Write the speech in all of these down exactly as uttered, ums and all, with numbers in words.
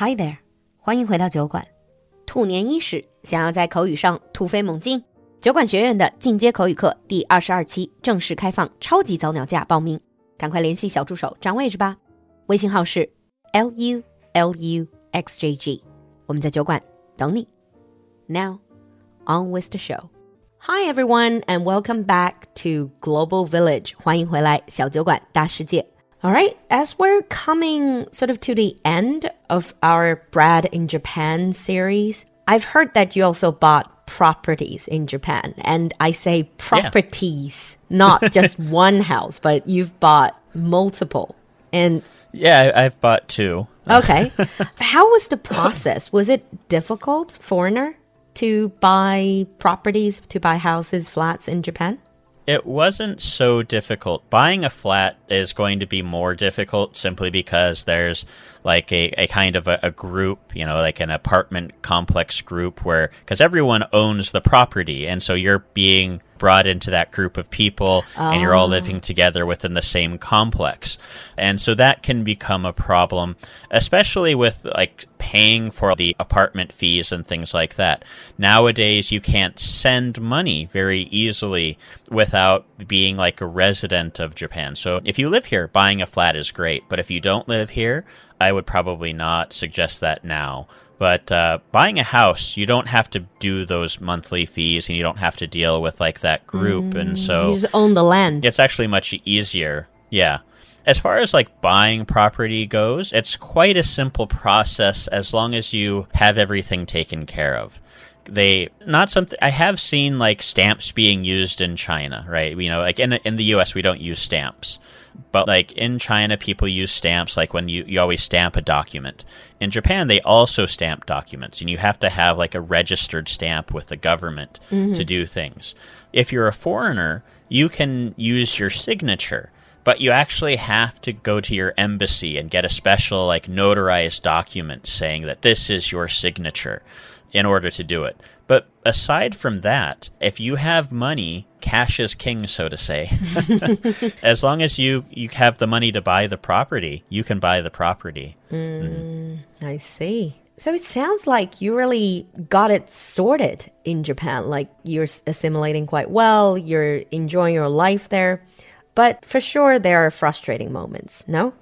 Hi there， 欢迎回到酒馆。兔年伊始，想要在口语上突飞猛进，酒馆学院的进阶口语课第二十二期正式开放超级早鸟价报名，赶快联系小助手占位置吧。微信号是 L U L U X J G， 我们在酒馆等你。Now, on with the show. Hi everyone and welcome back to Global Village. 欢迎回来小酒馆大世界。All right, as we're coming sort of to the end of our Brad in Japan series, I've heard that you also bought properties in Japan. And I say properties, yeah. Not just one house, but you've bought multiple. And yeah, I've bought two. Okay. How was the process? Was it difficult, foreigner, to buy properties, to buy houses, flats in Japan? It wasn't so difficult. Buying a flat is going to be more difficult simply because there's like a, a kind of a, a group, you know, like an apartment complex group where, because everyone owns the property. And so you're being brought into that group of people oh. and you're all living together within the same complex. And so that can become a problem, especially with like paying for the apartment fees and things like that. Nowadays, you can't send money very easily without being like a resident of Japan. So if you live here, buying a flat is great. But if you don't live here, I would probably not suggest that now. But uh, buying a house, you don't have to do those monthly fees and you don't have to deal with like that group. Mm, and so you just own the land. It's actually much easier. Yeah. As far as like buying property goes, it's quite a simple process as long as you have everything taken care of. They not something I have seen like stamps being used in China, right? You know, like in in the U S we don't use stamps. But like in China, people use stamps like when you, you always stamp a document. In Japan, they also stamp documents, and you have to have like a registered stamp with the government mm-hmm. to do things. If you're a foreigner, you can use your signature, but you actually have to go to your embassy and get a special like notarized document saying that this is your signature in order to do it. But aside from that, if you have money, cash is king, so to say. As long as you, you have the money to buy the property, you can buy the property. Mm, mm. I see. So it sounds like you really got it sorted in Japan. Like you're assimilating quite well, you're enjoying your life there. But for sure, there are frustrating moments, no?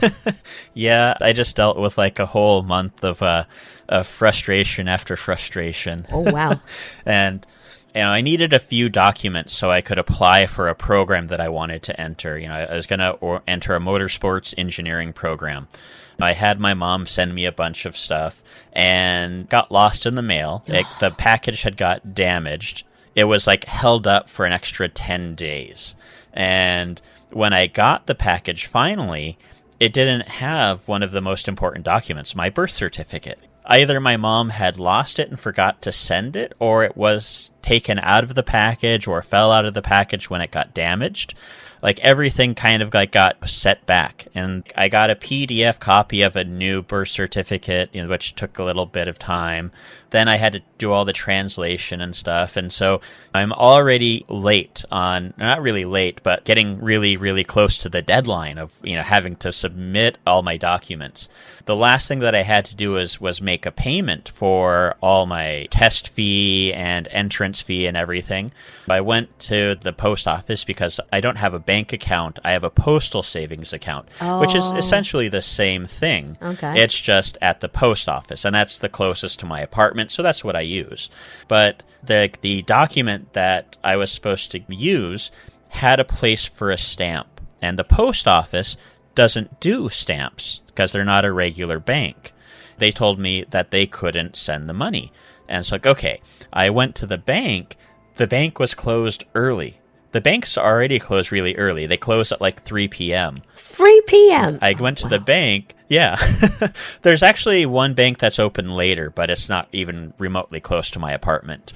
Yeah, I just dealt with like a whole month of uh, of frustration after frustration. Oh, wow. And you know, I needed a few documents so I could apply for a program that I wanted to enter. You know, I was going to enter a motorsports engineering program. I had my mom send me a bunch of stuff and got lost in the mail. Like, the package had got damaged. It was like held up for an extra ten days. And when I got the package finally, it didn't have one of the most important documents, my birth certificate. Either my mom had lost it and forgot to send it, or it was taken out of the package or fell out of the package when it got damaged. Like everything kind of like got set back, and I got a P D F copy of a new birth certificate, you know, which took a little bit of time. Then I had to do all the translation and stuff, and so I'm already late on, not really late, but getting really, really close to the deadline of, you know, having to submit all my documents. The last thing that I had to do was, was make a payment for all my test fee and entrance fee and everything. I went to the post office because I don't have a bank account. I have a postal savings account, oh. which is essentially the same thing. Okay. It's just at the post office, and that's the closest to my apartment, so that's what I use. But the the document that I was supposed to use had a place for a stamp, and the post office doesn't do stamps because they're not a regular bank. They told me that they couldn't send the money. And it's like, okay, I went to the bank. The bank was closed early. The banks already close really early. They close at like three p.m. three p.m.? I went to wow. the bank. Yeah. There's actually one bank that's open later, but it's not even remotely close to my apartment.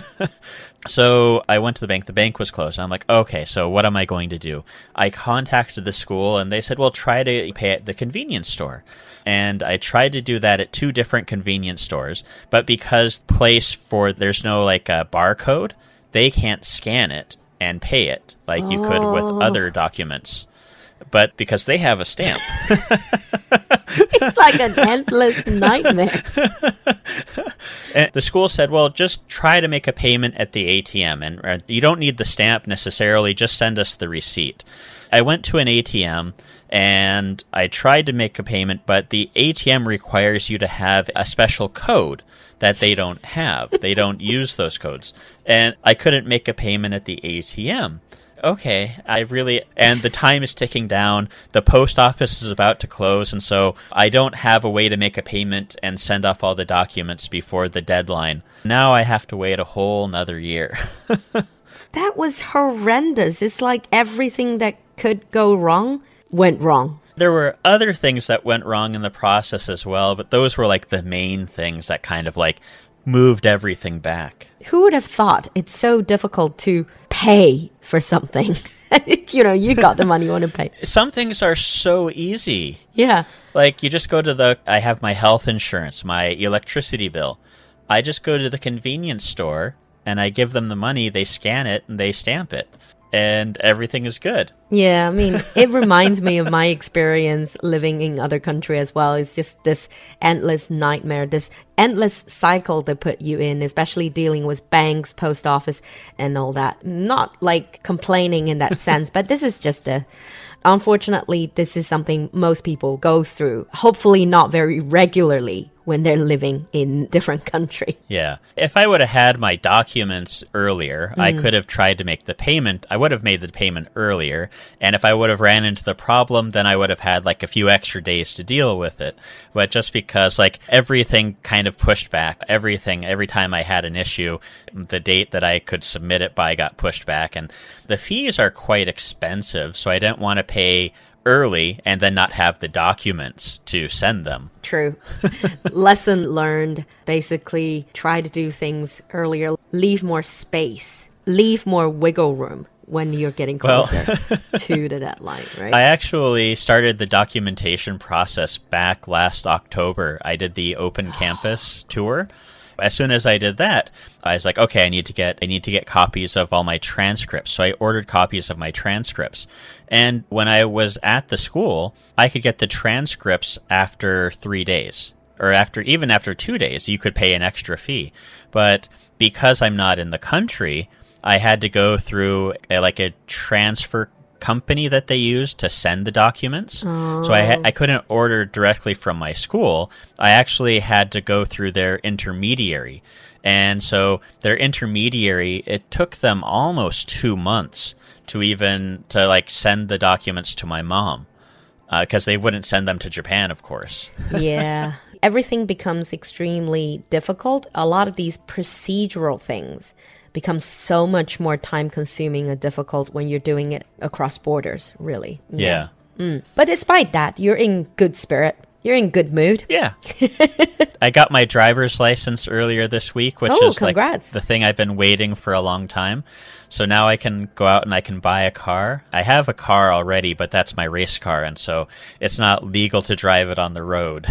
So I went to the bank. The bank was closed. I'm like, okay, so what am I going to do? I contacted the school, and they said, well, try to pay at the convenience store. And I tried to do that at two different convenience stores, but because place for there's no like a barcode, they can't scan it and pay it like you could with Oh. other documents. But because they have a stamp. It's like an endless nightmare. And the school said, well, just try to make a payment at the A T M. And uh, you don't need the stamp necessarily. Just send us the receipt. I went to an A T M and I tried to make a payment, but the A T M requires you to have a special code that they don't have. They don't use those codes. And I couldn't make a payment at the A T M. Okay, I really, and the time is ticking down. The post office is about to close, and so I don't have a way to make a payment and send off all the documents before the deadline. Now I have to wait a whole nother year. That was horrendous. It's like everything that could go wrong went wrong. There were other things that went wrong in the process as well, but those were like the main things that kind of like moved everything back. Who would have thought it's so difficult to pay for something? You know, you got the money you want to pay. Some things are so easy. Yeah. Like you just go to the, I have my health insurance, my electricity bill. I just go to the convenience store and I give them the money, they scan it and they stamp it. And everything is good. Yeah, I mean, it reminds me of my experience living in other country as well. It's just this endless nightmare, this endless cycle they put you in, especially dealing with banks, post office, and all that. Not like complaining in that sense, but this is just a... Unfortunately, this is something most people go through, hopefully not very regularly when they're living in different country. Yeah. If I would have had my documents earlier, mm. I could have tried to make the payment. I would have made the payment earlier. And if I would have ran into the problem, then I would have had like a few extra days to deal with it. But just because like everything kind of pushed back, everything, every time I had an issue, the date that I could submit it by got pushed back. And the fees are quite expensive. So I didn't want to pay early and then not have the documents to send them. True. Lesson learned. Basically, try to do things earlier. Leave more space. Leave more wiggle room when you're getting closer well, to the deadline, right? I actually started the documentation process back last October. I did the Open Campus tour. As soon as I did that, I was like, okay, I need to get I need to get copies of all my transcripts. So I ordered copies of my transcripts. And when I was at the school, I could get the transcripts after three days. Or after even after two days, you could pay an extra fee. But because I'm not in the country, I had to go through a, like a transfer company that they used to send the documents. Oh. So I ha- I couldn't order directly from my school. I actually had to go through their intermediary. And so their intermediary, it took them almost two months to even to like send the documents to my mom because uh, they wouldn't send them to Japan, of course. Yeah. Everything becomes extremely difficult. A lot of these procedural things becomes so much more time-consuming and difficult when you're doing it across borders, really. Yeah. yeah. Mm. But despite that, you're in good spirit. You're in good mood. Yeah. I got my driver's license earlier this week, which oh, is congrats. like the thing I've been waiting for a long time. So now I can go out and I can buy a car. I have a car already, but that's my race car, and so it's not legal to drive it on the road.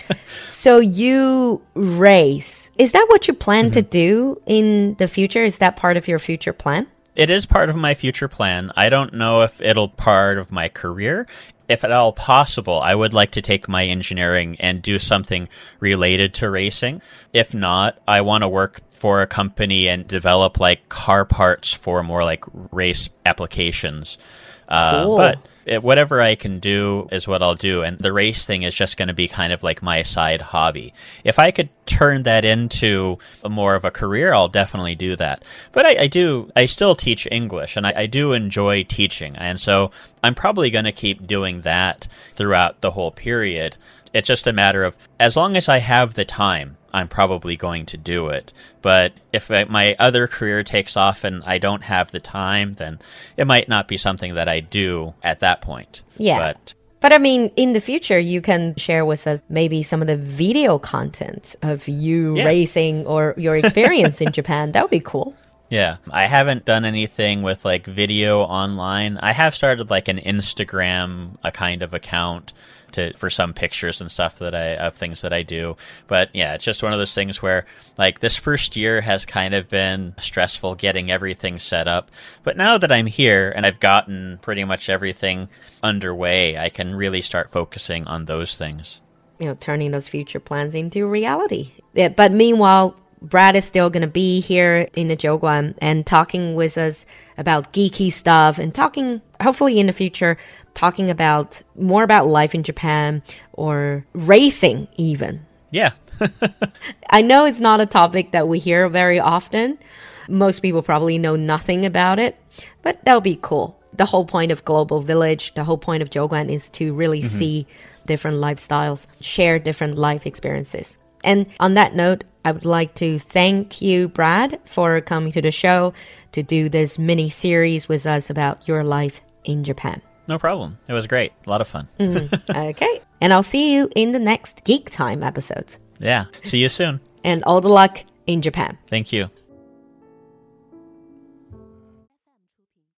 So you race. Is that what you plan mm-hmm. to do in the future? Is that part of your future plan? It is part of my future plan. I don't know if it'll part of my career. If at all possible, I would like to take my engineering and do something related to racing. If not, I want to work for a company and develop like car parts for more like race applications. Uh, cool. But it, whatever I can do is what I'll do. And the race thing is just going to be kind of like my side hobby. If I could turn that into a more of a career, I'll definitely do that. But I, I do, I still teach English and I, I do enjoy teaching. And so I'm probably going to keep doing that throughout the whole period. It's just a matter of, as long as I have the time, I'm probably going to do it. But if my other career takes off and I don't have the time, then it might not be something that I do at that point. Yeah. But, but I mean, in the future, you can share with us maybe some of the video content of you yeah. racing or your experience in Japan. That would be cool. Yeah, I haven't done anything with like video online. I have started like an Instagram, a kind of account to for some pictures and stuff that I of things that I do. But yeah, it's just one of those things where like this first year has kind of been stressful getting everything set up. But now that I'm here and I've gotten pretty much everything underway, I can really start focusing on those things. you know, turning those future plans into reality. Yeah, but meanwhile, Brad is still going to be here in the Jiuguan and talking with us about geeky stuff and talking, hopefully in the future, talking about more about life in Japan or racing even. Yeah. I know it's not a topic that we hear very often. Most people probably know nothing about it, but that'll be cool. The whole point of Global Village, the whole point of Jiuguan is to really mm-hmm. see different lifestyles, share different life experiences. And on that note, I would like to thank you, Brad, for coming to the show to do this mini series with us about your life in Japan. No problem. It was great. A lot of fun. mm, okay. And I'll see you in the next Geek Time episode. Yeah. See you soon. And all the luck in Japan. Thank you.